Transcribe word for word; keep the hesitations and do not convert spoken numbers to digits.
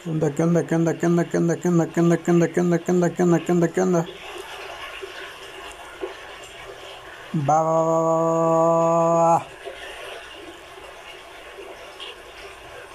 ¿Qué onda, qué onda, qué onda, qué onda, qué onda, qué onda, qué onda, qué onda, qué onda, qué onda, qué onda, qué onda, qué onda? Va, va, va, va, va, va.